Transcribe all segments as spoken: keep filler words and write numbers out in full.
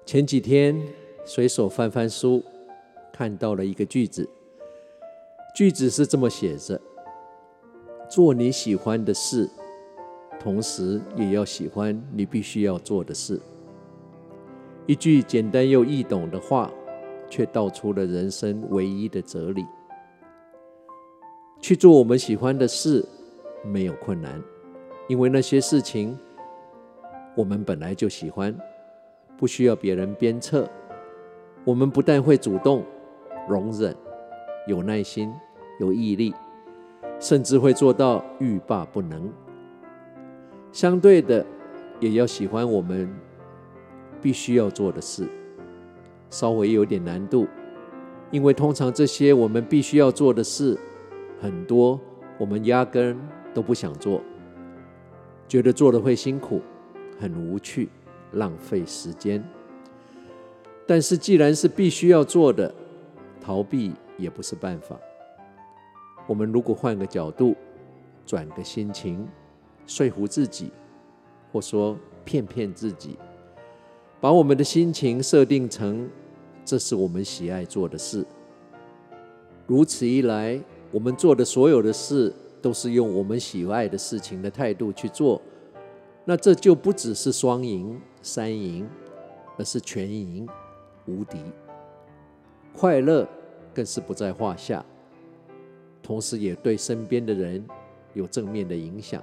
前幾天隨手翻翻書，看到了一個句子，句子是這麼寫着：做你喜歡的事，同時也要喜歡你必須要做的事。一句簡單又易懂的話，卻道出了人生唯一的哲理。去做我們喜歡的事沒有困難，因為那些事情我們本來就喜歡，不需要別人鞭策。我們不但會主動、容忍、有耐心、有毅力，甚至會做到欲罷不能。相對的，也要喜歡我們必須要做的事，稍微有點難度，因為通常這些我們必須要做的事，很多我們壓根都不想做，覺得做了會辛苦，很無趣，浪費時間。但是既然是必須要做的，逃避也不是辦法。我們如果換個角度，轉個心情，說服自己，或說騙騙自己，把我們的心情設定成這是我們喜愛做的事，如此一來，我們做的所有的事都是用我們喜愛的事情的態度去做，那這就不只是雙贏、三贏，而是全贏、無敵。快樂更是不在話下，同時也對身邊的人有正面的影響。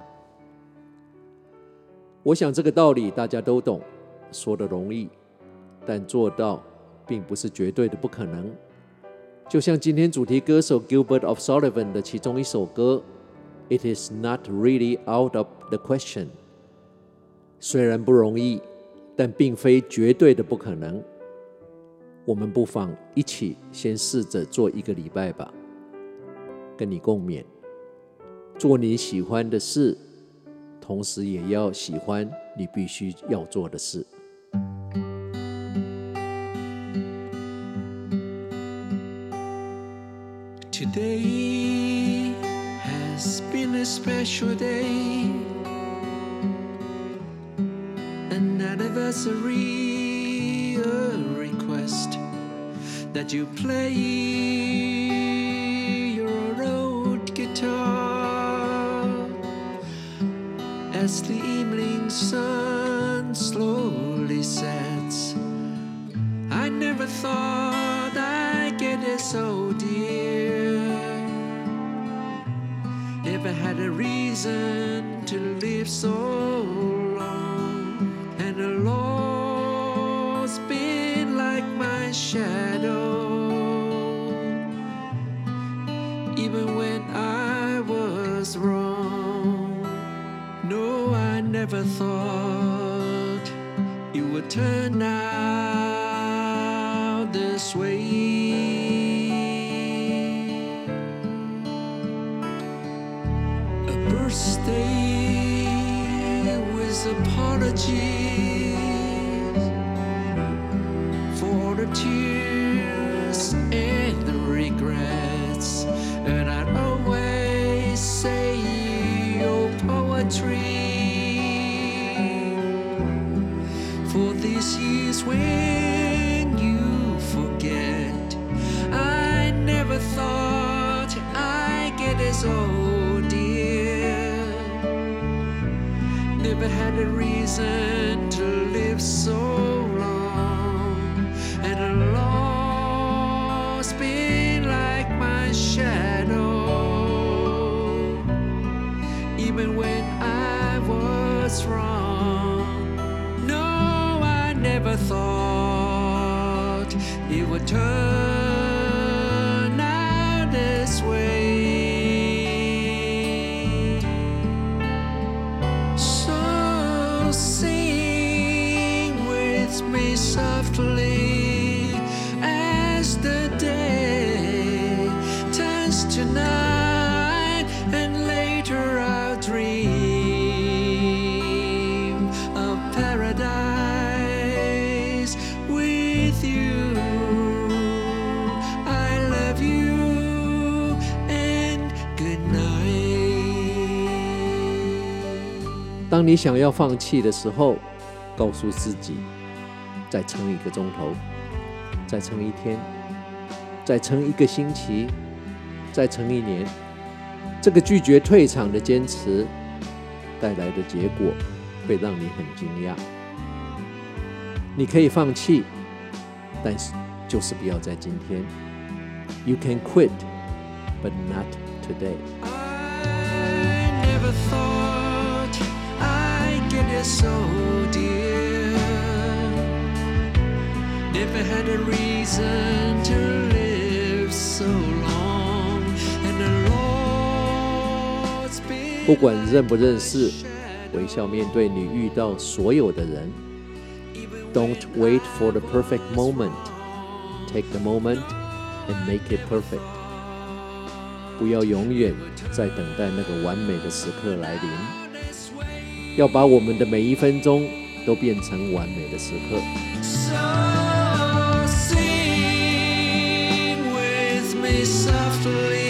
我想這個道理大家都懂，說得容易，但做到並不是絕對的不可能。就像今天主題歌手 Gilbert of Sullivan 的其中一首歌 It is not really out of the question， 雖然不容易，但並非絕對的不可能。我們不妨一起先試着做一個禮拜吧，跟你共勉，做你喜歡的事，同時也要喜歡你必須要做的事。 Today has been a special day, an anniversary, a request that you play your old guitar as the evening sun slowly sets. I never thought I'd get it so dear.Never had a reason to live so long, and the Lord's been like my shadow, even when I was wrong. No, I never thought it would turn out this way.Stay with apologies for the tears and the regrets, and I'd always say your poetry for these years when you forget. I never thought I'd get as old.Never had a reason to live so long, and the Lord's been like my shadow, even when I was wrong. No, I never thought it would turn out this way.Sing with me softly as the day turns to night, and later I'll dream of paradise with you. I love you and good night. 當你想要放棄的时候，告訴自己， 再撐一個鐘頭，再撐一天，再撐一個星期，再撐一年。這個拒絕退場的堅持帶來的結果會讓你很驚訝。你可以放棄，但是就是不要在今天。You can quit, but not today. I never thought I'd get it so dear. Never had a reason to live so long, and the Lord's been 不管認不認識，微笑面對你遇到所有的人。Don't wait for the perfect moment. Take the moment and make it perfect. 不要永遠在等待那個完美的時刻來臨，要把我們的每一分鐘都變成完美的時刻。 So sing with me softly.